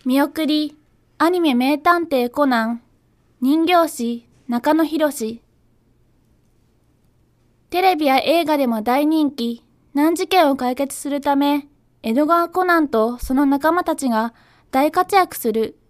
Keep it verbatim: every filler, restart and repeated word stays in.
見送り、アニメ名探偵コナン、人形師、中野博士。テレビや映画でも大人気、難事件を解決するため、江戸川コナンとその仲間たちが大活躍する